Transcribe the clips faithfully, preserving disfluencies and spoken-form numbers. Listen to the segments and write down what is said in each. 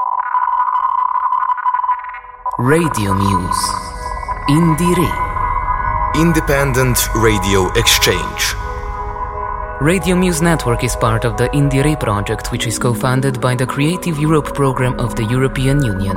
Radio Muse. Indire. Independent Radio Exchange. Radio Muse Network is part of the Indire project, which is co-funded by the Creative Europe program of the European Union.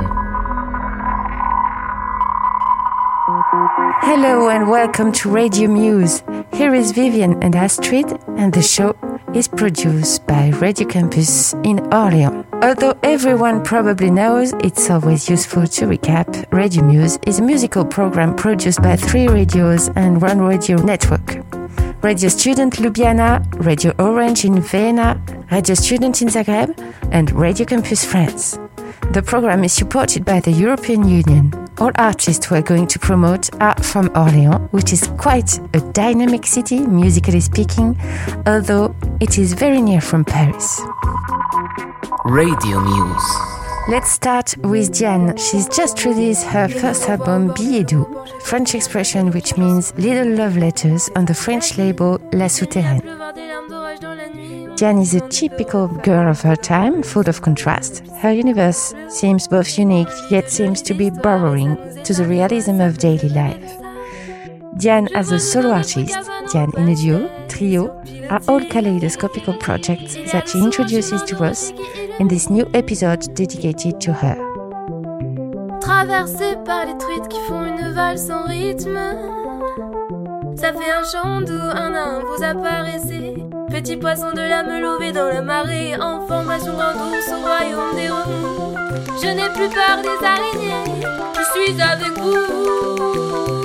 Hello and welcome to Radio Muse. Here is Vivian and Astrid, and the show is produced by Radio Campus in Orléans. Although everyone probably knows, it's always useful to recap. Radio Muse is a musical program produced by three radios and one radio network. Radio Student Ljubljana, Radio Orange in Vienna, Radio Student in Zagreb, and Radio Campus France. The program is supported by the European Union. All artists we're going to promote are from Orléans, which is quite a dynamic city, musically speaking, although it is very near from Paris. Radio Muse. Let's start with Diane. She's just released her first album, Billet doux, French expression which means little love letters, on the French label La Souterraine. Diane is a typical girl of her time, full of contrast. Her universe seems both unique, yet seems to be borrowing to the realism of daily life. Diane as a solo artist, Diane in a duo, trio, are all kaleidoscopical projects that she introduces to us in this new episode dedicated to her. Traversé par les truites qui font une valse sans rythme, ça fait un chant d'où un nain vous apparaissez. Petit poisson de la meule dans la marée, en formation grand ours au royaume des remous. Je n'ai plus peur des araignées, je suis avec vous.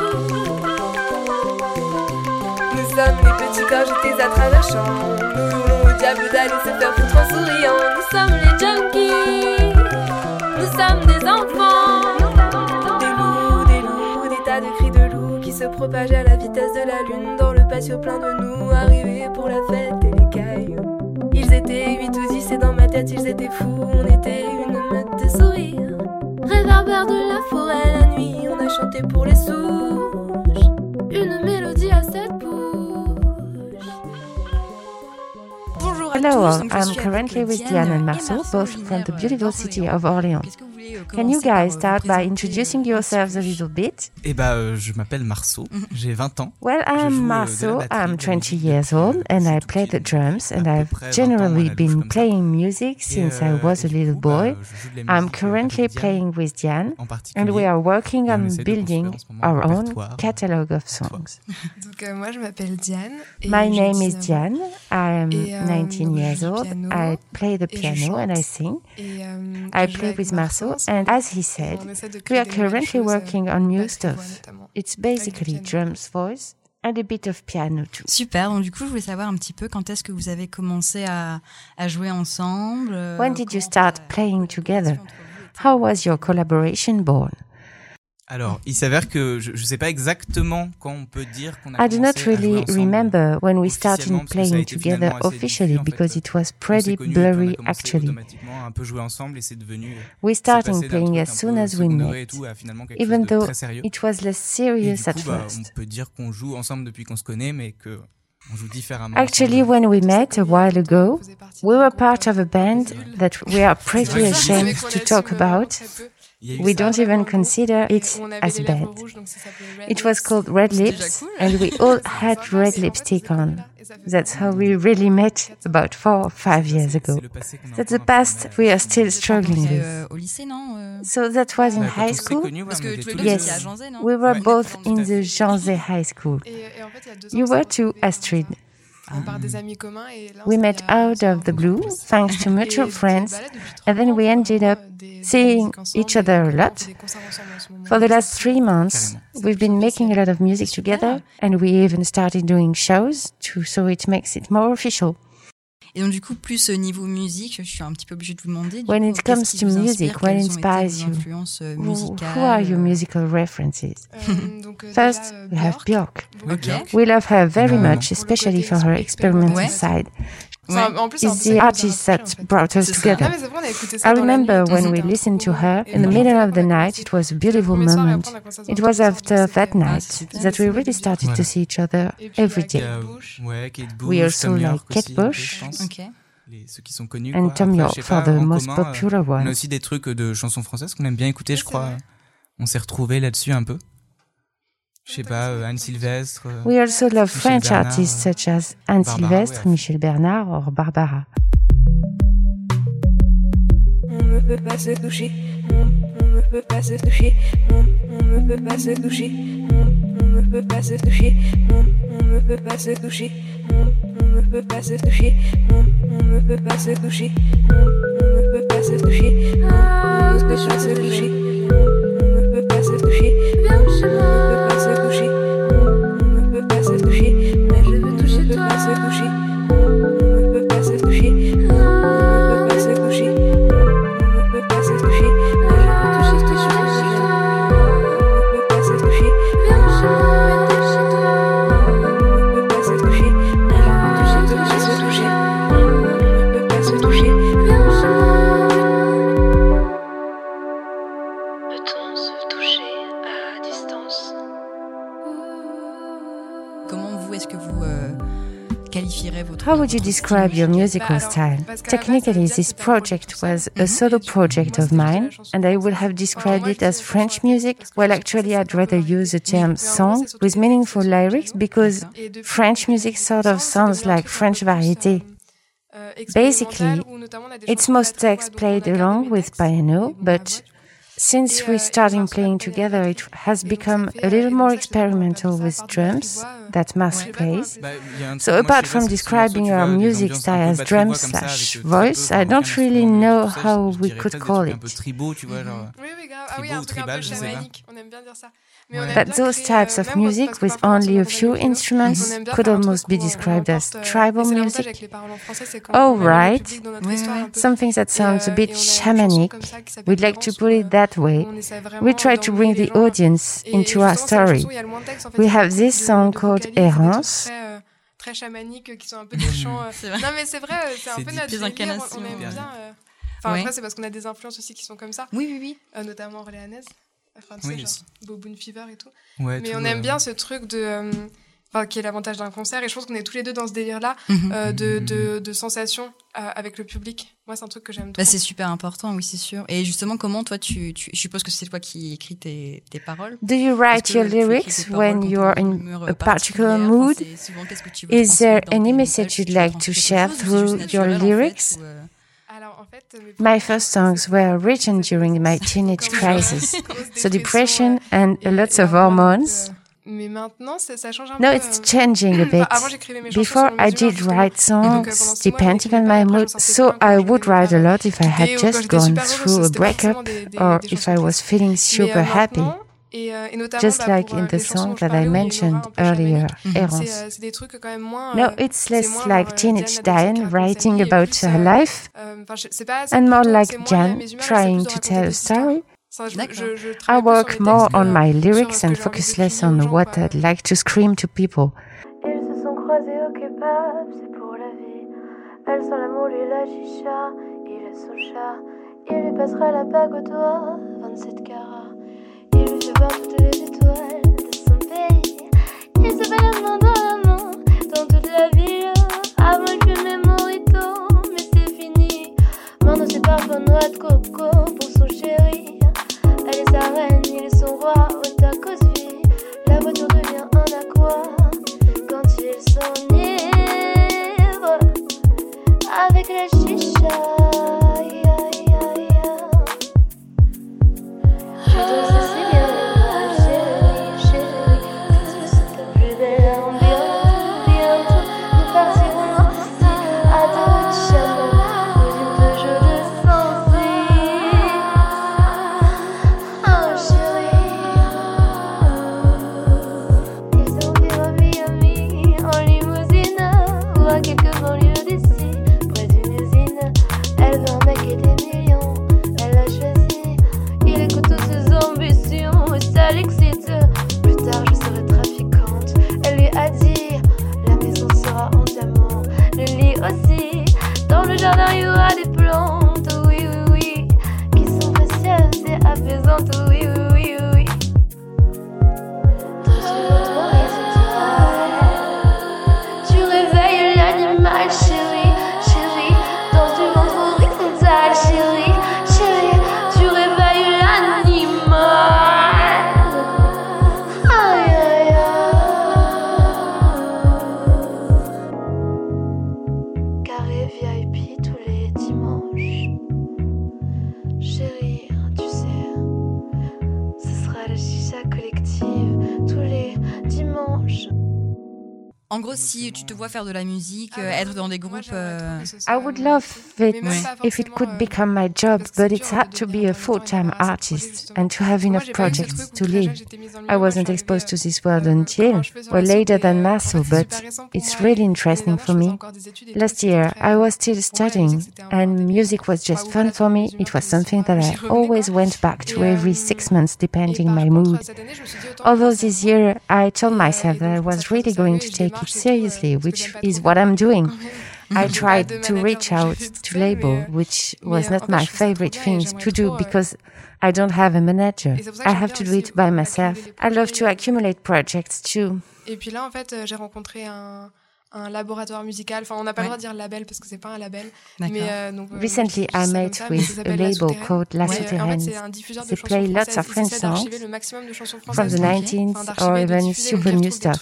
Nous sommes les petits corps jetés à travers champs. Nous hurlons au diable d'aller se faire foutre en souriant. Nous sommes les junkies, nous sommes des enfants. Des loups, des loups, des tas de cris de loups qui se propagent à la vitesse de la lune dans le patio plein de nous, arrivés pour la fête et les cailloux. Ils étaient huit ou dix et dans ma tête ils étaient fous. On était une meute de sourires, réverbère de la forêt la nuit. On a chanté pour les souches, une mélodie à sept bouches. Hello, I'm currently with Diane and Marceau, both from the beautiful city of Orléans. Can you guys start by introducing yourselves a little bit? Eh bah, euh, je m'appelle Marceau, j'ai vingt ans. Well, I'm Marceau, I'm twenty years old, and I play the drums, and I've generally been playing music since I was a little boy. I'm currently playing with Diane, and we are working on building our own catalogue of songs. Donc, euh, moi, je m'appelle Diane. My name is Diane, I am nineteen years old, I play the piano and I sing. I play with Marceau, and as he said, we are currently working on new stuff. It's basically drums, voice, and a bit of piano too. Super, donc du coup je voulais savoir un petit peu quand est-ce que vous avez commencé à, à jouer ensemble. When did you start playing together? How was your collaboration born? Alors, il s'avère que je ne sais pas exactement quand on peut dire qu'on a I do not really remember when we started playing together officially because it was pretty blurry actually. We started playing as soon as we met, even though it was less serious at first. On peut dire qu'on joue ensemble depuis qu'on se connaît, mais que on joue différemment. Actually, when we met a while ago, we were part of a band that we are pretty ashamed to talk about. We don't even consider it as a band. It was called Red Lips, and we all had red lipstick on. That's how we really met about four or five years ago. That's the past we are still struggling with. So that was in high school? Yes, we were both in the Janzé High School. You were too, Astrid. We met out of the blue, thanks to mutual friends, and then we ended up seeing each other a lot. For the last three months, we've been making a lot of music together, and we even started doing shows, too, so it makes it more official. Et donc du coup, plus niveau musique, je suis un petit peu obligée de vous demander. When it comes to music, what inspires you? Who are your musical references? First, we have Björk. Okay. We love her very much, especially for her experimental side. It's the artist that brought us together. I remember when we listened to her in the middle of the night, it was a beautiful moment. It was after that night that we really started to see each other every day. We also like Kate Bush. Okay. les, ceux qui sont connus. And quoi. Tom Après, York je sais for pas, the en most commun, popular euh, On a ones. aussi des trucs de chansons françaises qu'on aime bien écouter, je c'est crois. vrai. On s'est retrouvés là-dessus un peu. Je sais pas, euh, Anne Sylvestre. euh, We also love Michel French Bernard, artists euh, such as Anne Barbara, Sylvestre, ouais. Michel Bernard or Barbara. On ne peut pas se toucher, on, on ne peut pas se toucher, on, on ne peut pas se toucher, on, on ne peut pas se toucher, on, on ne peut pas se toucher, on, on ne peut pas se toucher, on, on ne peut pas se toucher, on, on ne peut pas se toucher, ah, on ne peut pas se toucher, on, on ne peut pas se toucher, viens chez moi, on ne peut pas se toucher, on, on ne peut pas se toucher, mais je veux toucher toi, on ne peut pas se toucher, on, on ne peut pas se toucher, ah, on ne peut pas se toucher. How would you describe your musical style? Technically, this project was a solo project of mine, and I would have described it as French music, while actually I'd rather use the term song with meaningful lyrics because French music sort of sounds like French variété. Basically, it's most text played along with piano, but since we're starting playing together, it has become a little more experimental with drums that Marc plays. So apart from describing our music style as drum slash voice, I don't really know how we could call it. But those types of music with only a few instruments could almost be described as tribal music. Oh, right. Something that sounds a bit shamanic. We'd like to put it that way. We try to bring the audience into our story. We have this song called Errance. Très chamaniques qui sont un peu des chants. Euh... Non mais c'est vrai, c'est un peu notre délire. On aime bien. Euh... Enfin ouais. Après c'est parce qu'on a des influences aussi qui sont comme ça. Oui oui oui. Euh, notamment orléanaise. Enfin tu oui, sais genre aussi. Boboon Fever et tout. Ouais, mais tout on euh... aime bien ce truc de. Euh... Enfin, qui est l'avantage d'un concert, et je pense qu'on est tous les deux dans ce délire-là mm-hmm. euh, de, de, de sensations euh, avec le public. Moi, c'est un truc que j'aime trop. Bah, c'est super important, oui, c'est sûr. Et justement, comment toi, tu, tu je suppose que c'est toi qui écris tes, tes paroles. Do you write your lyrics when you're in a particular mood? Is there any message you'd like to share through your lyrics? My first songs were written during my teenage crisis, so depression and lots of hormones. Mais maintenant, ça, ça change un no, peu. it's changing a bit. Before, I did write songs depending on my mood, so I would write a lot if I had just gone through a breakup or if I was feeling super happy. Just like in the song that I mentioned earlier, Errance. No, it's less like teenage Diane writing about her life, and more like Jan trying to tell a story. I work more on my lyrics and focus less on what I'd like to scream to people. Ils se sont croisés au kebab, c'est pour la vie. Elle sent l'amour, lui la chicha, il est son chat. Il lui passera la bague au doigt, vingt-sept carats. Il lui fait voir toutes les étoiles de son pays. Il se balade main dans la main, dans toute la ville. Avant il fumait Morito, mais c'est fini. Maintenant c'est parfois noix de coco pour son chéri. Elle est sa reine, il est son roi, au tacos vie. La voiture devient un aqua quand ils s'enivrent avec la chicha. Je danse assez bien, chérie, chérie. Qu'est-ce que c'est ta plus belle ambiance? Bientôt, nous partirons ici à dos de chameau, aux îles de jeux de Sancy. Oh, En gros, si tu te vois faire de la musique, ah, euh, être dans des groupes... Euh... I would love it if it could become my job, but it's had to be a full-time artist and to have enough projects to live. I wasn't exposed to this world until, well, later than Marceau, but it's really interesting for me. Last year, I was still studying, and music was just fun for me. It was something that I always went back to every six months, depending my mood. Although this year, I told myself that I was really going to take it seriously, which is what I'm doing. I tried to reach out to label, which was not my favorite thing to do because I don't have a manager. I have to do it by myself. I love to accumulate projects too. Et puis là, en fait, j'ai rencontré un un laboratoire musical. Enfin, on n'a pas le droit de dire label parce que c'est pas un label. Mais euh, donc, recently, I met with a label called La Souterraine. They play lots of French songs from the nineties or even super new stuff.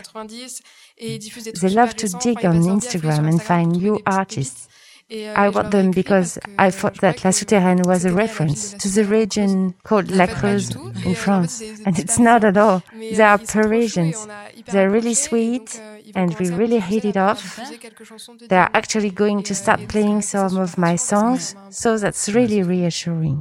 They love to dig on Instagram and find new artists. I want them because I thought that La Souterraine was a reference to the region called La Creuse in France. And it's not at all. They are Parisians. They're really sweet and we really hit it off. They are actually going to start playing some of my songs, so that's really reassuring.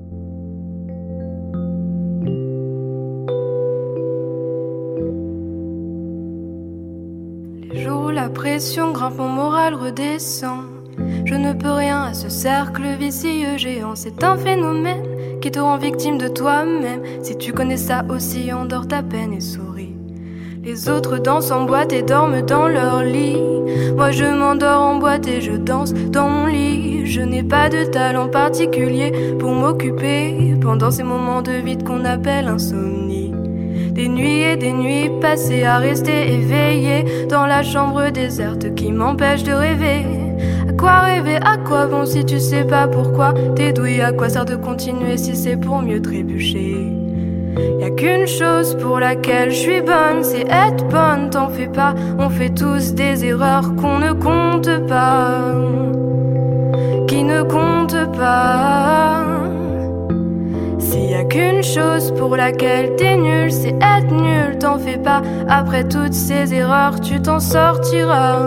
Les jours où la pression grimpe, mon moral redescend. Je ne peux rien à ce cercle vicieux géant. C'est un phénomène qui te rend victime de toi-même. Si tu connais ça aussi, endors ta peine et souris. Les autres dansent en boîte et dorment dans leur lit. Moi je m'endors en boîte et je danse dans mon lit. Je n'ai pas de talent particulier pour m'occuper pendant ces moments de vide qu'on appelle insomnie. Des nuits et des nuits passées à rester éveillé dans la chambre déserte qui m'empêche de rêver. À quoi rêver, à quoi bon si tu sais pas pourquoi t'es douille, à quoi sert de continuer si c'est pour mieux trébucher. Y'a qu'une chose pour laquelle je suis bonne, c'est être bonne, t'en fais pas. On fait tous des erreurs qu'on ne compte pas, qui ne comptent pas. S'il y a qu'une chose pour laquelle t'es nul, c'est être nul, t'en fais pas. Après toutes ces erreurs, tu t'en sortiras.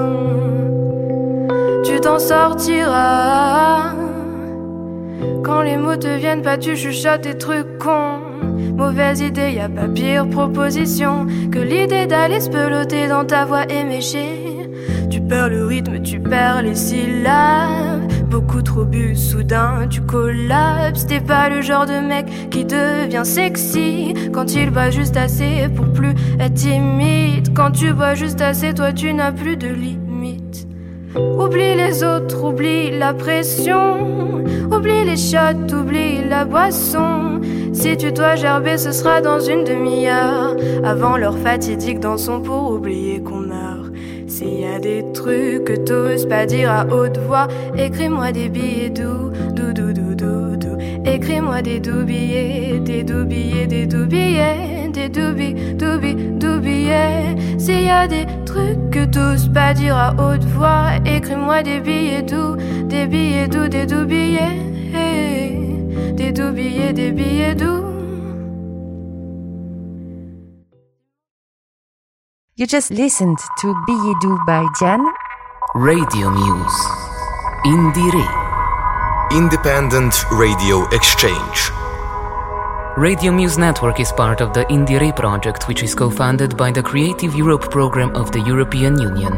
Tu t'en sortiras. Quand les mots te viennent pas, tu chuchotes des trucs cons. Mauvaise idée, y a pas pire proposition que l'idée d'aller se peloter dans ta voix éméchée. Tu perds le rythme, tu perds les syllabes. Beaucoup trop bu, soudain tu collapses. T'es pas le genre de mec qui devient sexy quand il boit juste assez pour plus être timide. Quand tu bois juste assez, toi tu n'as plus de limite. Oublie les autres, oublie la pression. Oublie les shots, oublie la boisson. Si tu dois gerber, ce sera dans une demi-heure, avant l'heure fatidique dansons pour oublier qu'on meurt. S'il y a des trucs que t'oses pas dire à haute voix, écris-moi des billets doux, doux, doux, doux, doux, doux. Écris-moi des doux billets, des doux billets, des doux billets, des doux billets, doux billets, doux billets. S'il y a des trucs que t'oses pas dire à haute voix, écris-moi des billets doux, des billets doux, des doux billets. Des doux billets, des billets doux. You just listened to Billets doux by Diane. Radio Muse. Indire. Independent Radio Exchange. Radio Muse Network is part of the Indire project, which is co-funded by the Creative Europe program of the European Union.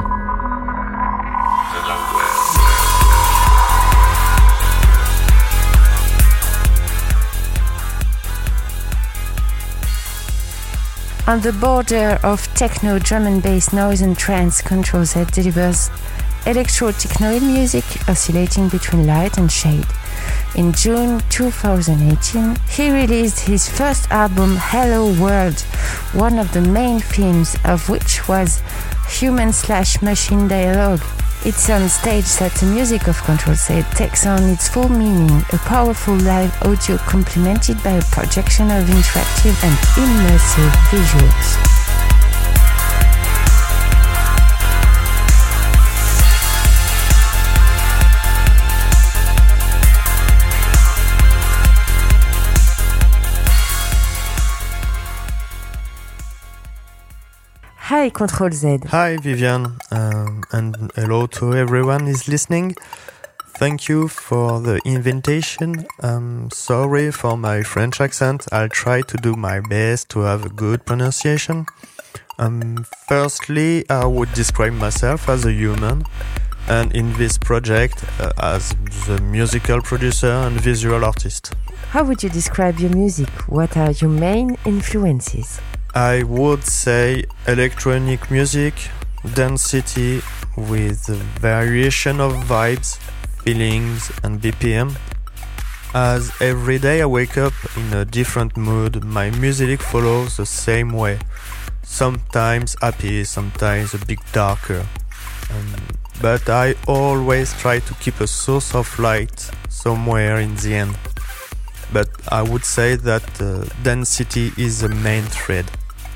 On the border of techno, drum and bass, noise and trance, Control Z delivers electro-technoid music oscillating between light and shade. In June twenty eighteen, he released his first album, Hello World, one of the main themes of which was human-slash-machine dialogue. It's on stage that the music of Control Z takes on its full meaning, a powerful live audio complemented by a projection of interactive and immersive visuals. Hi, Control Z. Hi, Vivian, um, and hello to everyone is listening. Thank you for the invitation. Um, sorry for my French accent. I'll try to do my best to have a good pronunciation. Um, firstly, I would describe myself as a human, and in this project uh, as the musical producer and visual artist. How would you describe your music? What are your main influences? I would say electronic music, density with a variation of vibes, feelings and B P M. As every day I wake up in a different mood, my music follows the same way. Sometimes happy, sometimes a bit darker. Um, but I always try to keep a source of light somewhere in the end. But I would say that uh, density is the main thread.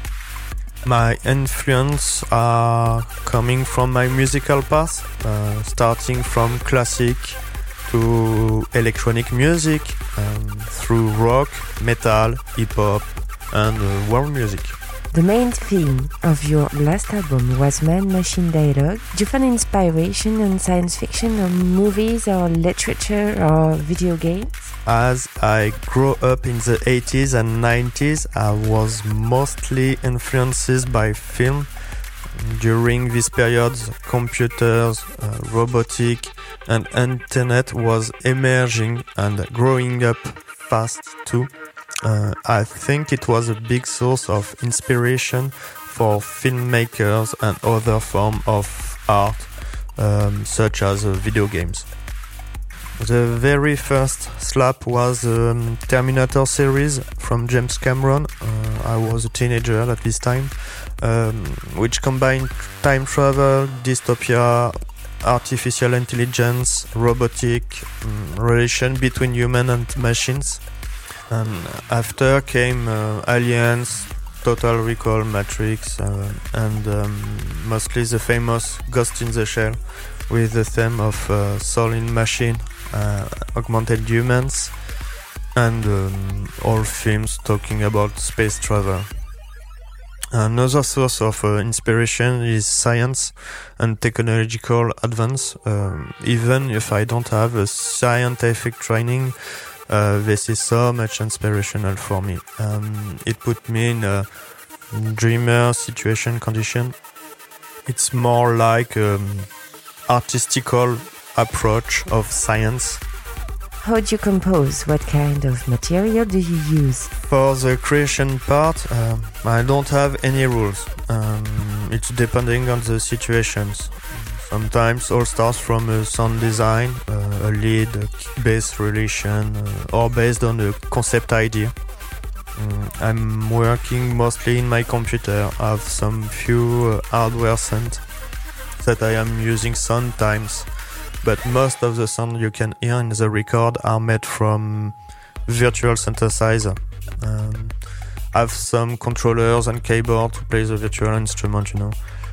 My influences are coming from my musical path, uh, starting from classic to electronic music, um, through rock, metal, hip-hop and uh, world music. The main theme of your last album was man-machine dialogue. Do you find inspiration in science fiction or movies or literature or video games? As I grew up in the eighties and nineties, I was mostly influenced by film. During this period, computers, uh, robotic and internet was emerging and growing up fast too. Uh, I think it was a big source of inspiration for filmmakers and other forms of art, um, such as uh, video games. The very first slap was the um, Terminator series from James Cameron. Uh, I was a teenager at this time, um, which combined time travel, dystopia, artificial intelligence, robotic um, relation between human and machines. And after came uh, Aliens, Total Recall, Matrix, uh, and um, mostly the famous Ghost in the Shell, with the theme of uh, soul in machine, uh, augmented humans, and um, all films talking about space travel. Another source of uh, inspiration is science and technological advance. Um, even if I don't have a scientific training, Uh, this is so much inspirational for me. Um, it put me in a dreamer situation condition. It's more like um, artistical approach of science. How do you compose? What kind of material do you use? For the creation part, uh, I don't have any rules. Um, it's depending on the situations. Sometimes all starts from a sound design, uh, a lead, a bass relation, uh, or based on a concept idea. Um, I'm working mostly in my computer. I have some few uh, hardware sounds that I am using sometimes, but most of the sound you can hear in the record are made from virtual synthesizer. Um, I have some controllers and keyboard to play the virtual instrument, you know.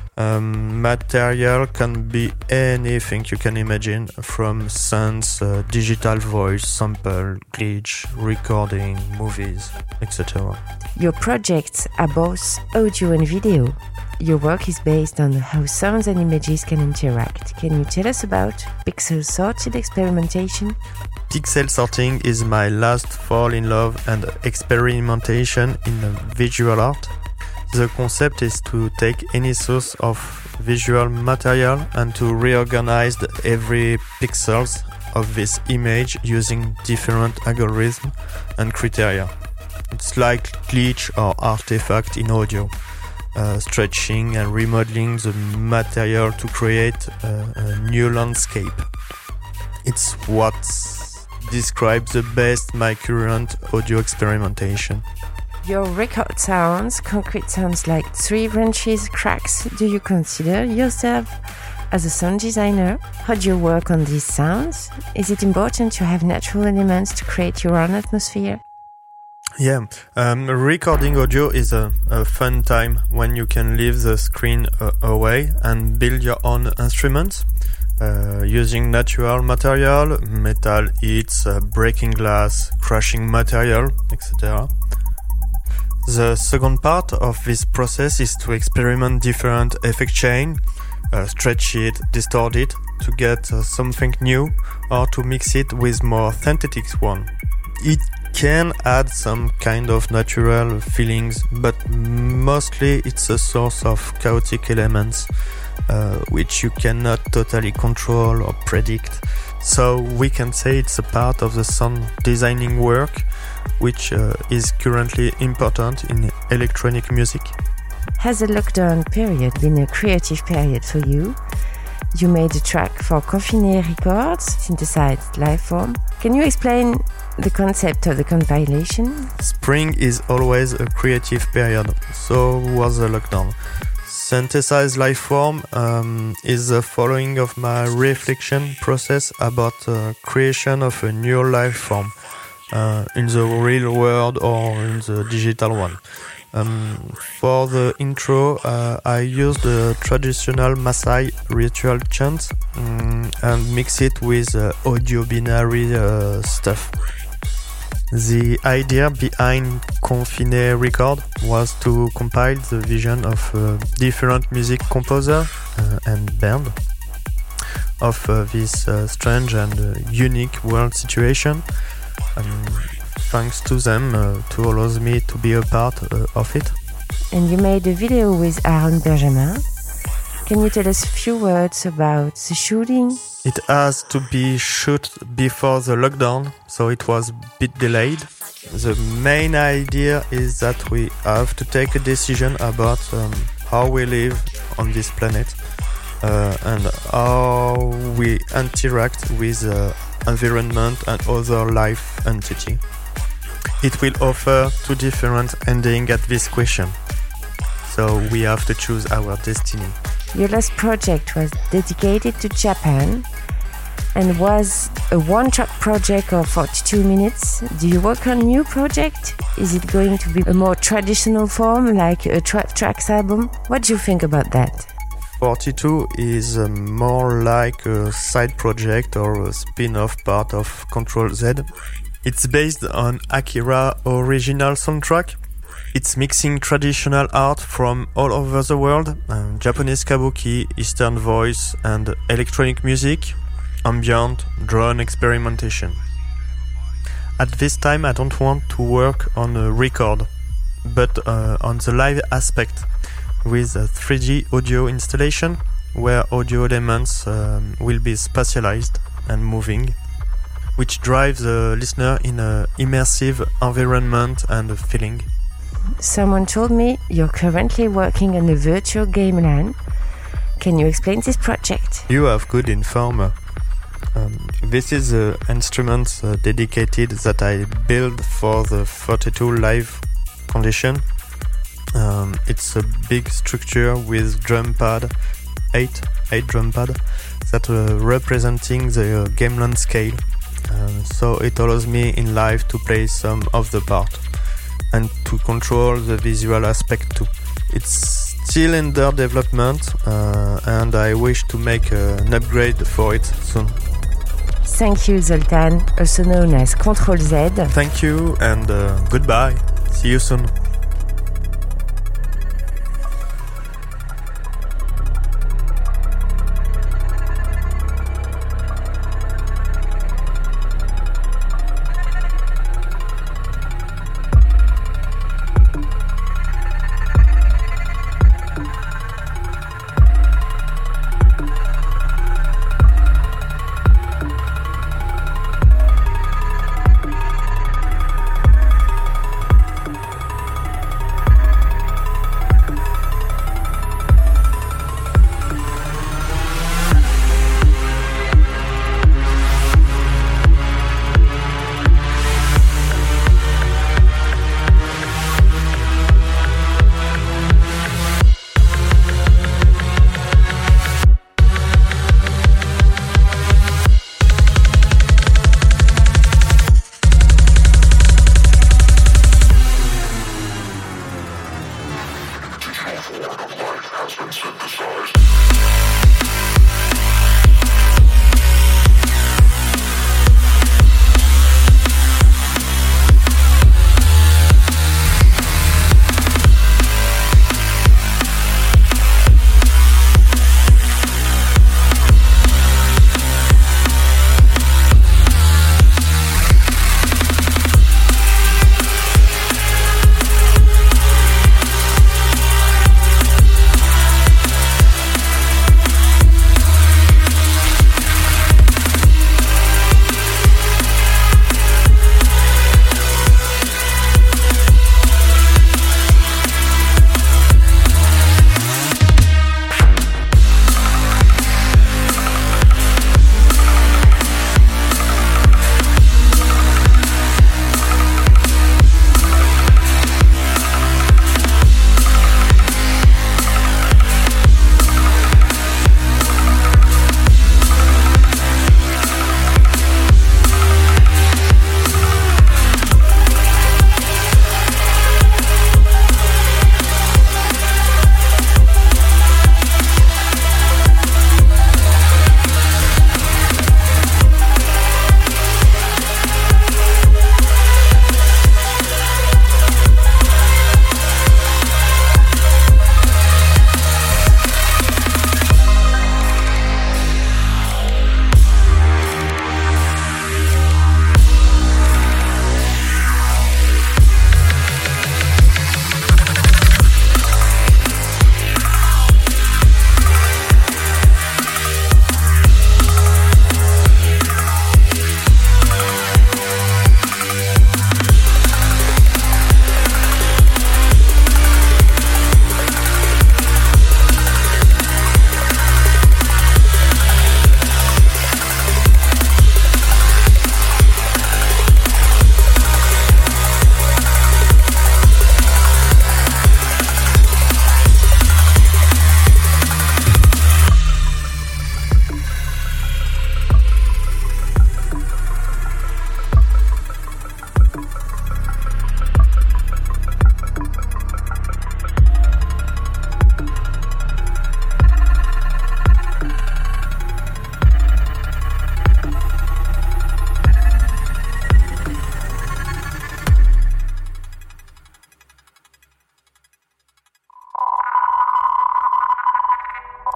Um, material can be anything you can imagine, from sounds, uh, digital voice, sample, glitch, recording, movies, et cetera. Your projects are both audio and video. Your work is based on how sounds and images can interact. Can you tell us about pixel sorted experimentation? Pixel sorting is my last fall in love and experimentation in visual art. The concept is to take any source of visual material and to reorganize every pixels of this image using different algorithms and criteria. It's like glitch or artifact in audio, uh, stretching and remodeling the material to create a, a new landscape. It's what describes the best my current audio experimentation. Your record sounds, concrete sounds like tree branches, cracks. Do you consider yourself as a sound designer? How do you work on these sounds? Is it important to have natural elements to create your own atmosphere? Yeah, um, recording audio is a, a fun time when you can leave the screen uh, away and build your own instruments. Uh, using natural material, metal hits, uh, breaking glass, crashing material, et cetera. The second part of this process is to experiment different effect chain, uh, stretch it, distort it, to get uh, something new, or to mix it with more synthetic one. It can add some kind of natural feelings, but mostly it's a source of chaotic elements, uh, which you cannot totally control or predict. So we can say it's a part of the sound designing work, which uh, is currently important in electronic music. Has the lockdown period been a creative period for you? You made a track for Confiné Records, synthesized live form. Can you explain the concept of the compilation? Spring is always a creative period, so was the lockdown. Synthesized life form um, is the following of my reflection process about uh, creation of a new life form uh, in the real world or in the digital one. Um, for the intro, uh, I used the traditional Maasai ritual chant um, and mix it with uh, audio binary uh, stuff. The idea behind Confiné Record was to compile the vision of uh, different music composer uh, and band of uh, this uh, strange and uh, unique world situation. Um, thanks to them uh, to allow me to be a part uh, of it. And you made a video with Aaron Benjamin. Can you tell us a few words about the shooting? It has to be shot before the lockdown, so it was a bit delayed. The main idea is that we have to take a decision about um, how we live on this planet uh, and how we interact with the environment and other life entity. It will offer two different endings at this question, so we have to choose our destiny. Your last project was dedicated to Japan and was a one-track project of forty-two minutes. Do you work on a new project? Is it going to be a more traditional form, like a twelve tracks album? What do you think about that? forty-two is uh, more like a side project or a spin-off part of Control Z. It's based on Akira original soundtrack. It's mixing traditional art from all over the world, um, Japanese kabuki, Eastern voice and electronic music, ambient, drone experimentation. At this time I don't want to work on a record, but uh, on the live aspect with a three D audio installation where audio elements um, will be spatialized and moving, which drives the listener in an immersive environment and feeling. Someone told me you're currently working on a virtual game LAN. Can you explain this project? You have good informer. Um, this is the instrument uh, dedicated that I built for the forty-two live condition. Um, it's a big structure with drum pad, eight, eight drum pad that are representing the uh, game LAN scale. Uh, so it allows me in live to play some of the part and to control the visual aspect too. It's still under development uh, and I wish to make uh, an upgrade for it soon. Thank you, Zoltan, also known as Control Z. Thank you and uh, goodbye. See you soon.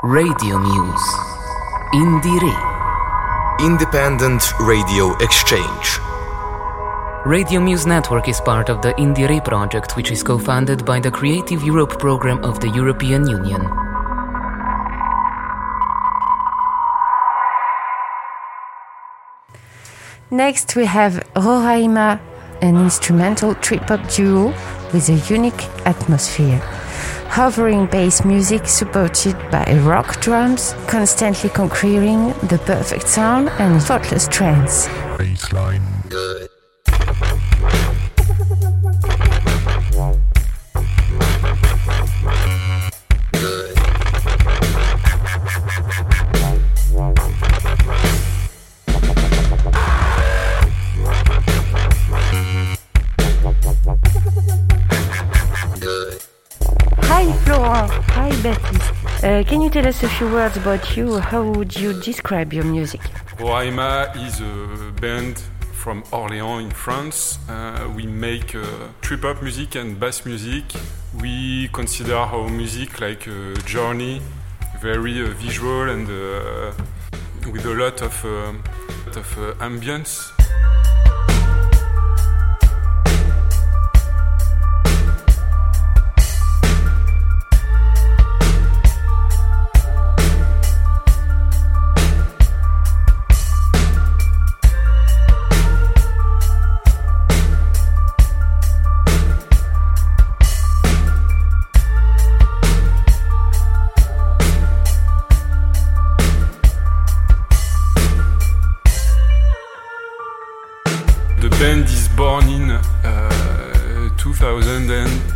Radio Muse. Indire. Independent Radio Exchange. Radio Muse Network is part of the Indire project, which is co-funded by the Creative Europe program of the European Union. Next we have Roraima, an instrumental trip-hop duo with a unique atmosphere. Hovering bass music supported by rock drums, constantly conquering the perfect sound and thoughtless trance. Baseline. Good. Hi Florent, hi Baptiste. Uh, can you tell us a few words about you? How would you describe your music? Roraima is a band from Orléans in France. Uh, we make uh, trip-hop music and bass music. We consider our music like a journey, very uh, visual and uh, with a lot of, uh, of uh, ambience. The band is born in uh, two thousand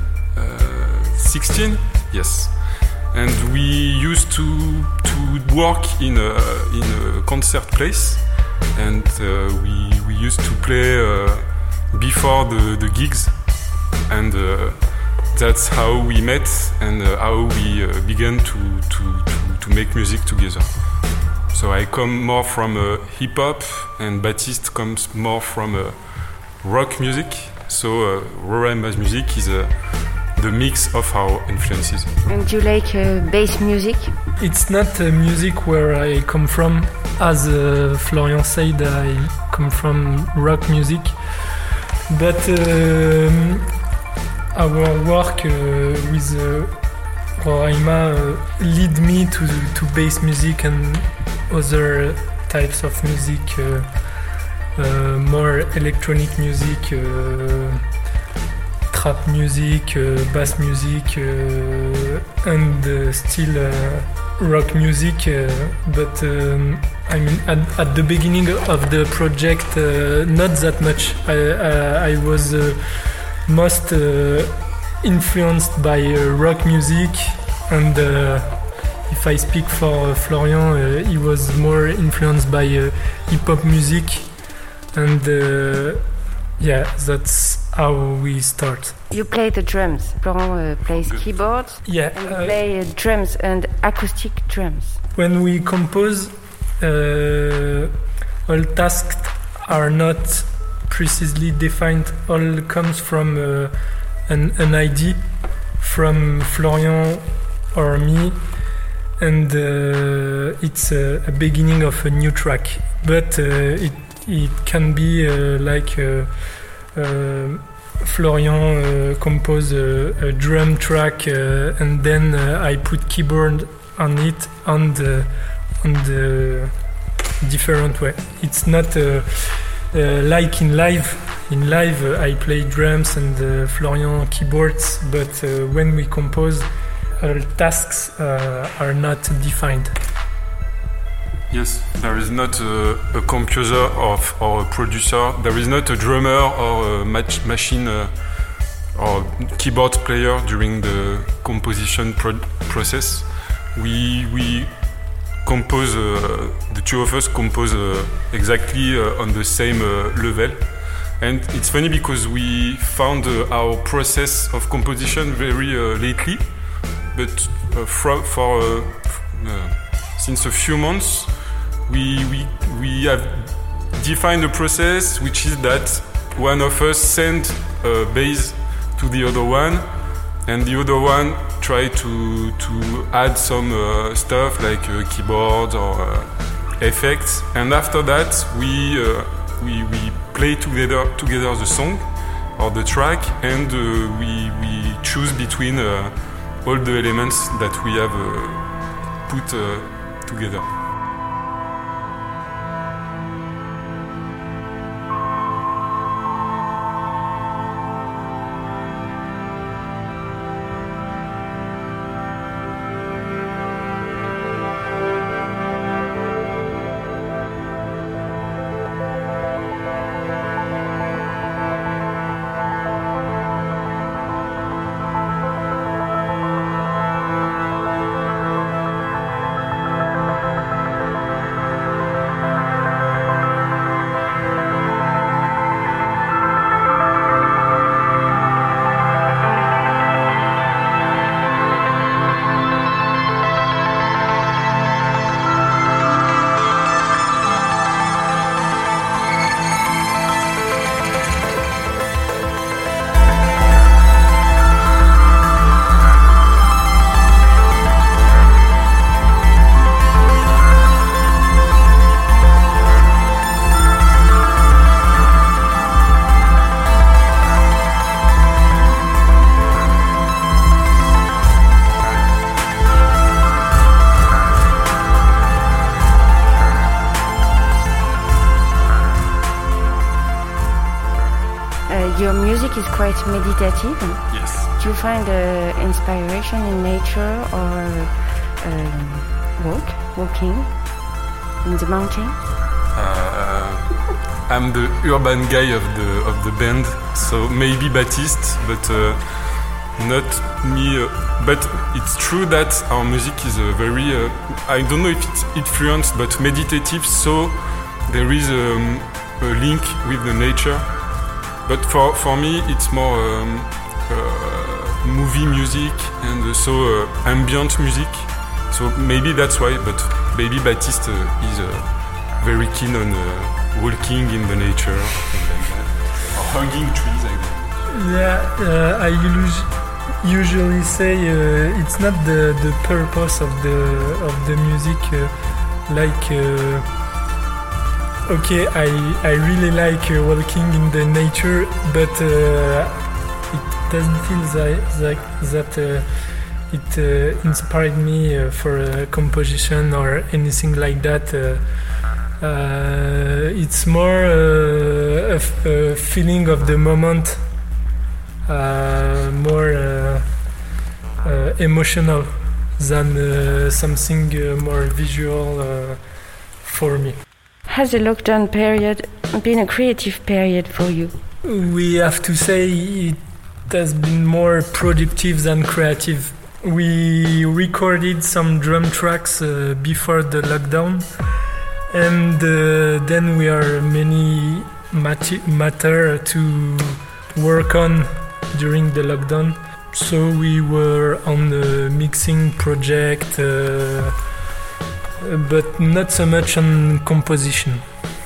sixteen, yes, and we used to to work in a in a concert place, and uh, we we used to play uh, before the, the gigs, and uh, that's how we met and uh, how we uh, began to, to to to make music together. So I come more from uh, hip hop, and Baptiste comes more from uh, rock music. So uh, Roraima's music is uh, the mix of our influences. And you like uh, bass music? It's not uh, music where I come from. As uh, Florian said, I come from rock music. But um, our work uh, with uh, Roraima uh, lead me to, to bass music and other types of music, uh, uh, more electronic music, uh, trap music, uh, bass music, uh, and uh, still uh, rock music. Uh, but um, I mean, at, at the beginning of the project, uh, not that much. I, I, I was uh, most uh, influenced by uh, rock music, and uh, if I speak for uh, Florian, uh, he was more influenced by uh, hip-hop music, and uh, yeah, that's how we start. You play the drums. Florent uh, plays keyboards. Yeah, and you uh, play uh, drums and acoustic drums. When we compose, uh, all tasks are not precisely defined. All comes from uh, an, an idea from Florian or me, and uh, it's a, a beginning of a new track. But uh, it it can be uh, like uh, uh, Florian uh, compose a, a drum track, uh, and then uh, I put keyboard on it on the on the different way. It's not uh, uh, like in live. In live, uh, I play drums and uh, Florian keyboards, but uh, when we compose, all tasks uh, are not defined. Yes, there is not a, a composer of, or a producer. There is not a drummer or a match machine uh, or keyboard player during the composition pro- process. We we compose. Uh, the two of us compose uh, exactly uh, on the same uh, level. And it's funny because we found uh, our process of composition very uh, lately, but uh, from, for uh, uh, since a few months, we, we we have defined a process which is that one of us send a bass to the other one, and the other one try to to add some uh, stuff like uh, keyboards or uh, effects, and after that we uh, we we play together together the song or the track, and uh, we we choose between uh, all the elements that we have uh, put uh, together. Your music is quite meditative. Yes. Do you find uh, inspiration in nature or uh, walk, walking in the mountain? Uh, I'm the urban guy of the of the band, so maybe Baptiste, but uh, not me. Uh, but it's true that our music is a very, uh, I don't know if it's influenced, but meditative. So there is um, a link with the nature. But for, for me, it's more um, uh, movie music and uh, so uh, ambient music. So maybe that's why, but maybe Baptiste uh, is uh, very keen on uh, walking in the nature like that. Or hugging trees like that. Yeah, uh, I us- usually say uh, it's not the, the purpose of the, of the music uh, like... Uh, Okay, I, I really like uh, walking in the nature, but uh, it doesn't feel that, that, that uh, it uh, inspired me uh, for a composition or anything like that. Uh, uh, it's more uh, a, f- a feeling of the moment, uh, more uh, uh, emotional than uh, something uh, more visual uh, for me. Has the lockdown period been a creative period for you? We have to say it has been more productive than creative. We recorded some drum tracks uh, before the lockdown, and uh, then we are many mat- matter to work on during the lockdown. So we were on the mixing project. Uh, but not so much on composition.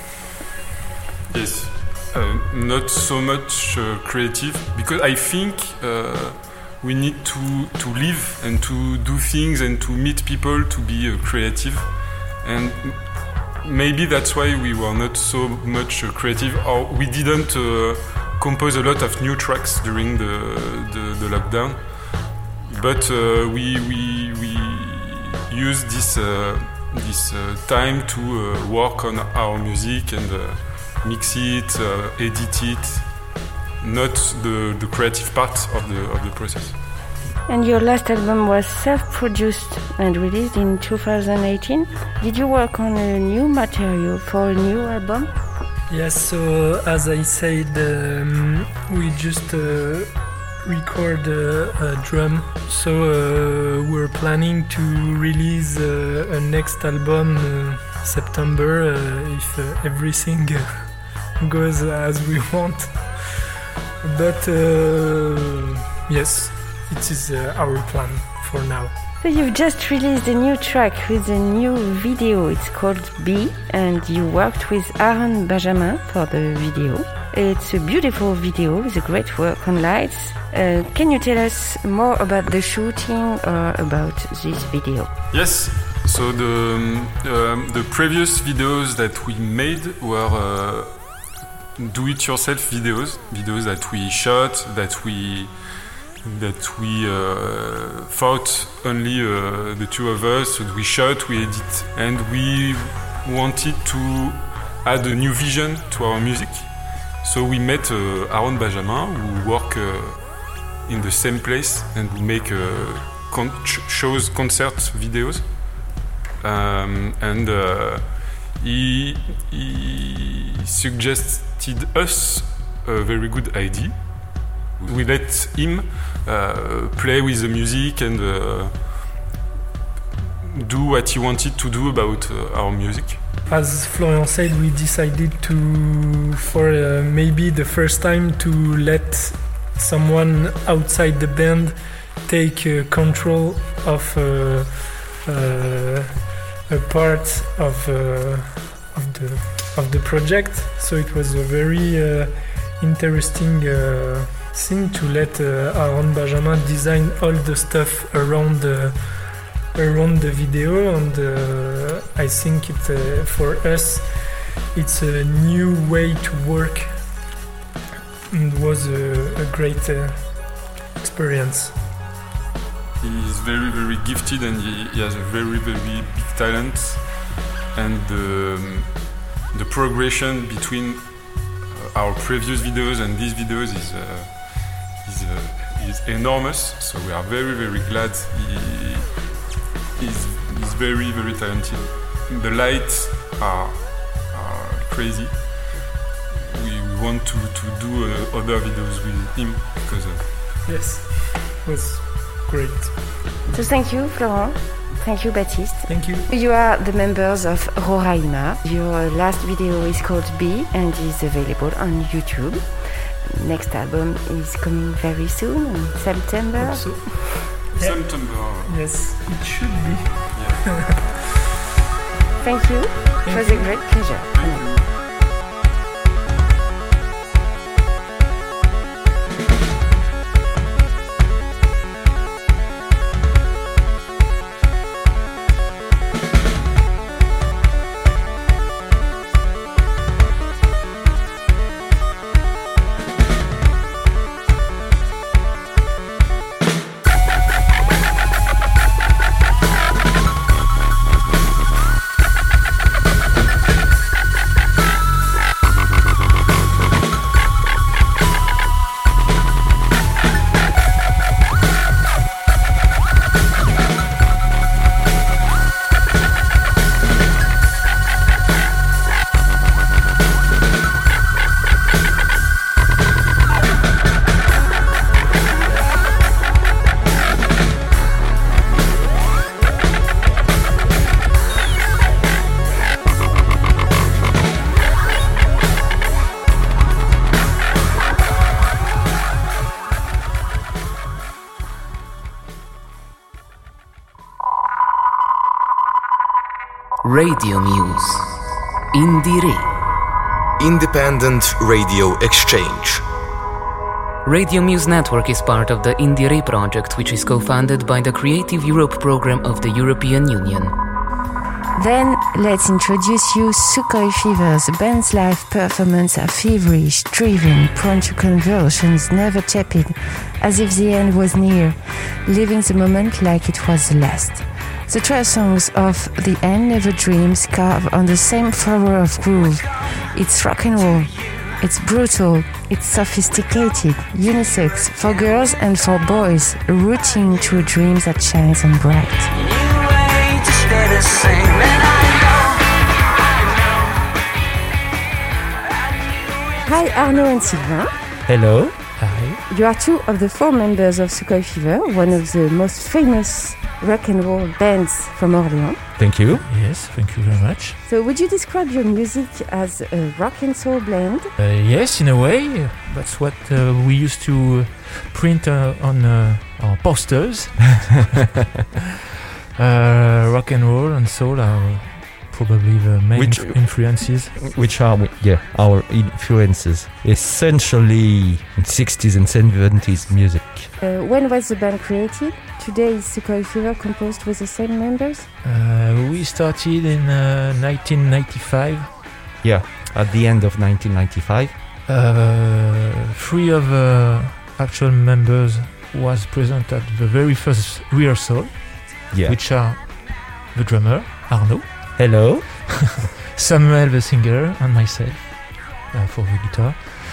Yes, uh, not so much uh, creative, because I think uh, we need to, to live and to do things and to meet people to be uh, creative, and maybe that's why we were not so much uh, creative, or we didn't uh, compose a lot of new tracks during the, the, the lockdown, but uh, we, we, we use this uh, this uh, time to uh, work on our music and uh, mix it, uh, edit it, not the, the creative part of the of the process. And your last album was self-produced and released in two thousand eighteen. Did you work on a new material for a new album? Yes, so as I said, um, we just uh, record uh, a drum, so uh, we're planning to release uh, a next album uh, September uh, if uh, everything goes as we want. But uh, yes, it is uh, our plan for now. So you've just released a new track with a new video. It's called B, and you worked with Aaron Benjamin for the video. It's a beautiful video with a great work on lights. Uh, can you tell us more about the shooting or about this video? Yes. So the um, the previous videos that we made were uh, do-it-yourself videos, videos that we shot, that we that we uh, thought only uh, the two of us. So we shot, we edit, and we wanted to add a new vision to our music. So we met uh, Aaron Benjamin, who work uh, in the same place and who make uh, con- shows, concert videos, um, and uh, he, he suggested us a very good idea. We let him uh, play with the music and uh, do what he wanted to do about uh, our music. As Florian said, we decided to, for uh, maybe the first time, to let someone outside the band take uh, control of uh, uh, a part of uh, of the of the project. So it was a very uh, interesting Uh, thing to let uh, Aaron Benjamin design all the stuff around the around the video, and uh, I think it uh, for us it's a new way to work, and it was a, a great uh, experience. He is very very gifted, and he, he has a very very big talent, and the, the progression between our previous videos and these videos is uh, is, uh, is enormous. So we are very very glad he is is very very talented. The lights are, are crazy. We want to, to do uh, other videos with him because uh, yes, it was great. So thank you, Florent. Thank you, Baptiste. Thank you. You are the members of Roraima. Your last video is called B and is available on YouTube. Next album is coming very soon, in September. So. Yeah. September. Yes, it should be. Yeah. Thank you. Thank it was you. A great pleasure. Thank you. Radio Muse. Indire. Independent Radio Exchange. Radio Muse Network is part of the Indire project, which is co-funded by the Creative Europe program of the European Union. Then let's introduce you Sukhoi Fevers, the band's live performance are feverish, driven, prone to convulsions, never tepid, as if the end was near, living the moment like it was the last. The twelve songs of The End Never Dreams carve on the same flower of groove. It's rock and roll, it's brutal, it's sophisticated, unisex, for girls and for boys, rooting to a dream that shines and bright. Hi Arnaud and Sylvain. Hello. Hi. You are two of the four members of Sukhoi Fever, one of the most famous rock and roll bands from Orléans. Thank you. Yes, thank you very much. So would you describe your music as a rock and soul blend? Uh, yes, in a way. That's what uh, we used to print uh, on uh, our posters. uh, rock and roll and soul are probably the main which, inf- influences. Which are, yeah, our influences. Essentially sixties and seventies music. Uh, when was the band created? Today is Sukhoi Fever composed with the same members? Uh, we started in uh, nineteen ninety-five. Yeah, at the end of nineteen ninety-five. Uh, three of the uh, actual members was present at the very first rehearsal, yeah. which are the drummer, Arnaud. Hello. Samuel the singer and myself uh, for the guitar.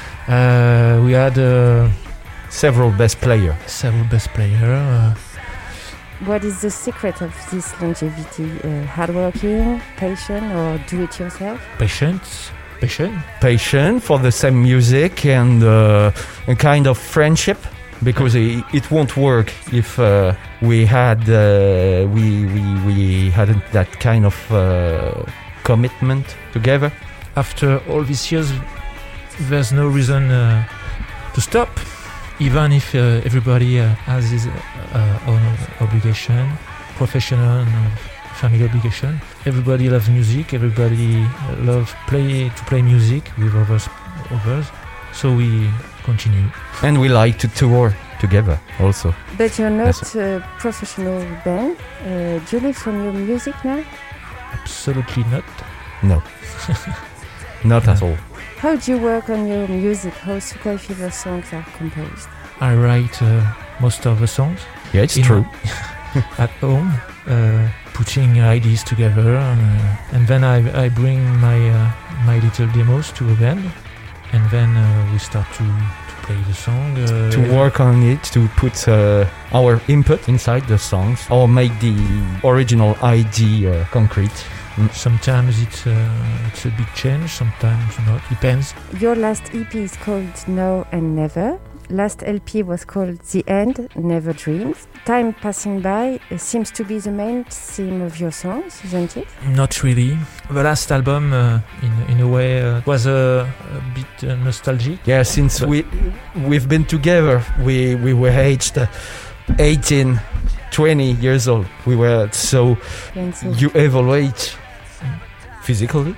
Uh, we had uh, several bass players. Several bass players. Uh, what is the secret of this longevity? Uh, hardworking, patient, or do-it-yourself? Patience. Patient. Patient for the same music and uh, a kind of friendship. Because it, it won't work if uh, we had uh, we, we we hadn't that kind of uh, commitment together. After all these years, there's no reason uh, to stop, even if uh, everybody uh, has his uh, own obligation, professional and uh, family obligation. Everybody loves music. Everybody loves play to play music with others. Others. So we continue. And we like to tour together also. But you're not a professional band. Uh, do you live from your music now? Absolutely not. No. Not no. at all. How do you work on your music? How Sukhoi Fever songs are composed? I write uh, most of the songs. Yeah, it's true. At home, uh, putting ideas together, and, uh, and then I, I bring my uh, my little demos to a band. And then uh, we start to, to play the song. Uh, to work on it, to put uh, our input inside the songs, or make the original idea uh, concrete. Mm. Sometimes it's, uh, it's a big change, sometimes not, depends. Your last E P is called Now and Never. Last L P was called The End, Never Dreams. Time passing by uh, seems to be the main theme of your songs, isn't it? Not really. The last album, uh, in in a way, uh, was a, a bit uh, nostalgic. Yeah, since but we we've been together, we we were aged uh, eighteen, twenty years old. We were so, so you evaluate physically.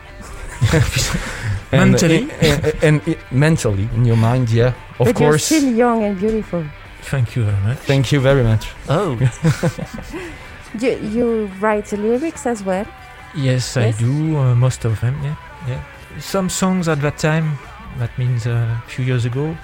And, mentally and, and, and, and mentally in your mind, yeah, of but course. You're still young and beautiful. Thank you very much. Thank you very much. Oh. you, you write the lyrics as well? Yes, yes? I do. Uh, most of them. Yeah, yeah. Some songs at that time, that means uh, a few years ago,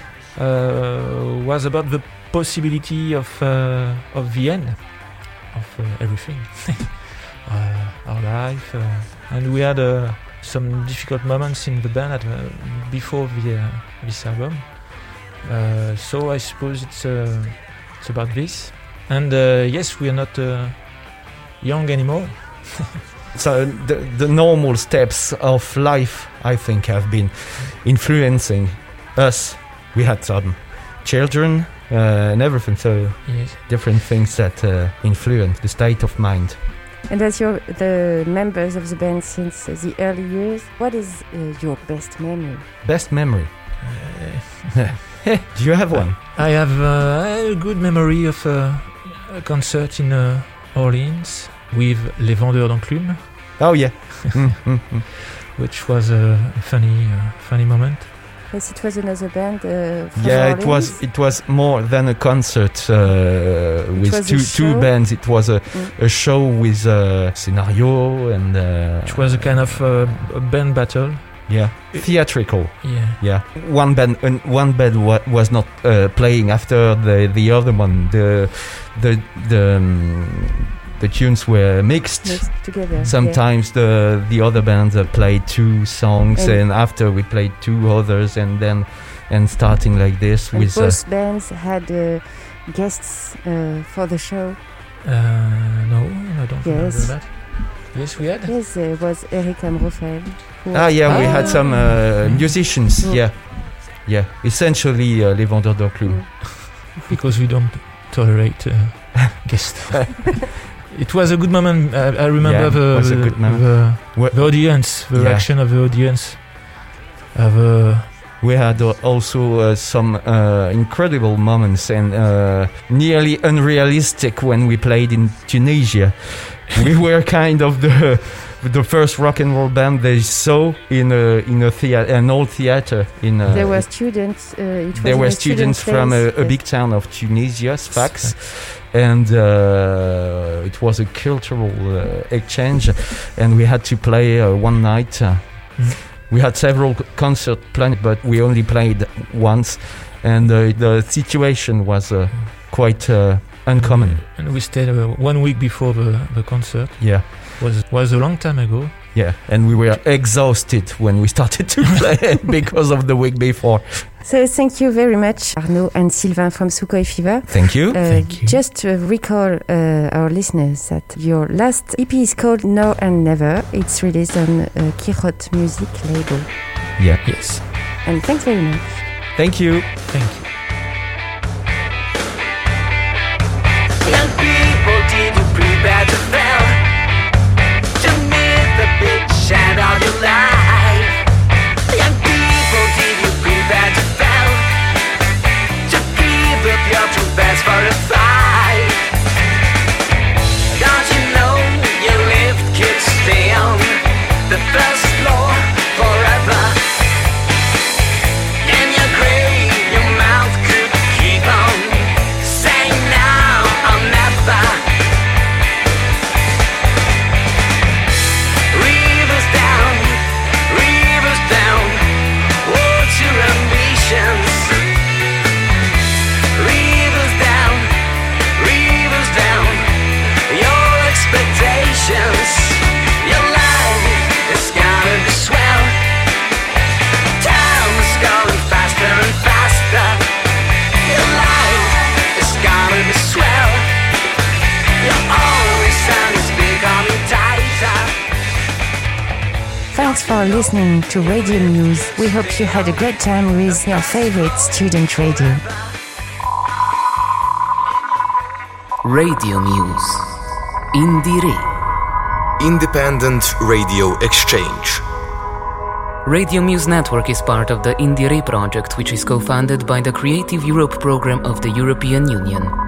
uh, was about the possibility of uh, of the end of uh, everything, uh, our life, uh, and we had a. Uh, some difficult moments in the band at, uh, before the, uh, this album. Uh, so I suppose it's uh, it's about this. And uh, yes, we are not uh, young anymore. So the, the normal steps of life, I think, have been influencing us. We had some children uh, and everything, so yes. different things that uh, influence the state of mind. And as you're the members of the band since uh, the early years, what is uh, your best memory? Best memory? Uh, Do you have one? I have uh, a good memory of uh, a concert in uh, Orleans with Les Vendeurs d'Enclume. Oh yeah. Which was a funny, uh, funny moment. Yes, it was another band. Uh, from yeah, Orleans. it was. It was more than a concert uh, with two two bands. It was a, mm. a show with a scenario and. Uh, it was a kind of uh, a band battle. Yeah, theatrical. Yeah, yeah. One band, uh, one band wa- was not uh, playing after the the other one. The the the. Um, The tunes were mixed, mixed together. Sometimes yeah. the the other bands uh, played two songs, and, and after we played two others, and then and starting like this and with. Both uh, bands had uh, guests uh, for the show. Uh, no, I don't yes. remember that. Yes, we had. Yes, there was Eric Amrofel. Ah, yeah, we ah. had some uh, musicians. Mm. Yeah. yeah, essentially uh, Les Vendeurs d'Enclume. Because we don't tolerate uh, guests. It was a good moment. I, I remember yeah, the, was a the, good moment. the, the audience, the yeah. reaction of the audience. Of, uh, we had uh, also uh, some uh, incredible moments and uh, nearly unrealistic when we played in Tunisia. We were kind of the the first rock and roll band they saw in a in a theater, an old theater. In a, there were students. Uh, it was there were student students from a, a yes. big town of Tunisia, Sfax, and uh, it was a cultural uh, exchange, and we had to play uh, one night. Uh, mm. We had several concerts planned, but we only played once, and uh, the situation was uh, quite uh, uncommon. And we stayed uh, one week before the, the concert. Yeah. Was was a long time ago. Yeah, and we were exhausted when we started to play because of the week before. So thank you very much, Arnaud and Sylvain from Sukhoi Fever. Thank you. Uh, Thank you. Just to recall uh, our listeners that your last E P is called Now and Never. It's released on uh, Kirot Music label. Yeah. Yes. And thanks very much. Thank you. Thank you. Young people, did you prepare to fail? To meet the big shadow of your life. Young people, did you prepare to fail? To give up your true best for a fight. Don't you know your lift could stay on the first floor forever? In your grave, your mouth could keep on saying now or never. Rivers down, rivers down, what's your ambitions? Rivers down, rivers down, your expectations. Your life is gonna be swell. Time is going faster and faster. Your life is gonna be swell. Your only sun is becoming tighter. Thanks for listening to Radio Muse. We hope you had a great time with your favorite student radio. Radio Muse. Indire. Independent Radio Exchange. Radio Muse Network is part of the Indire project, which is co-funded by the Creative Europe program of the European Union.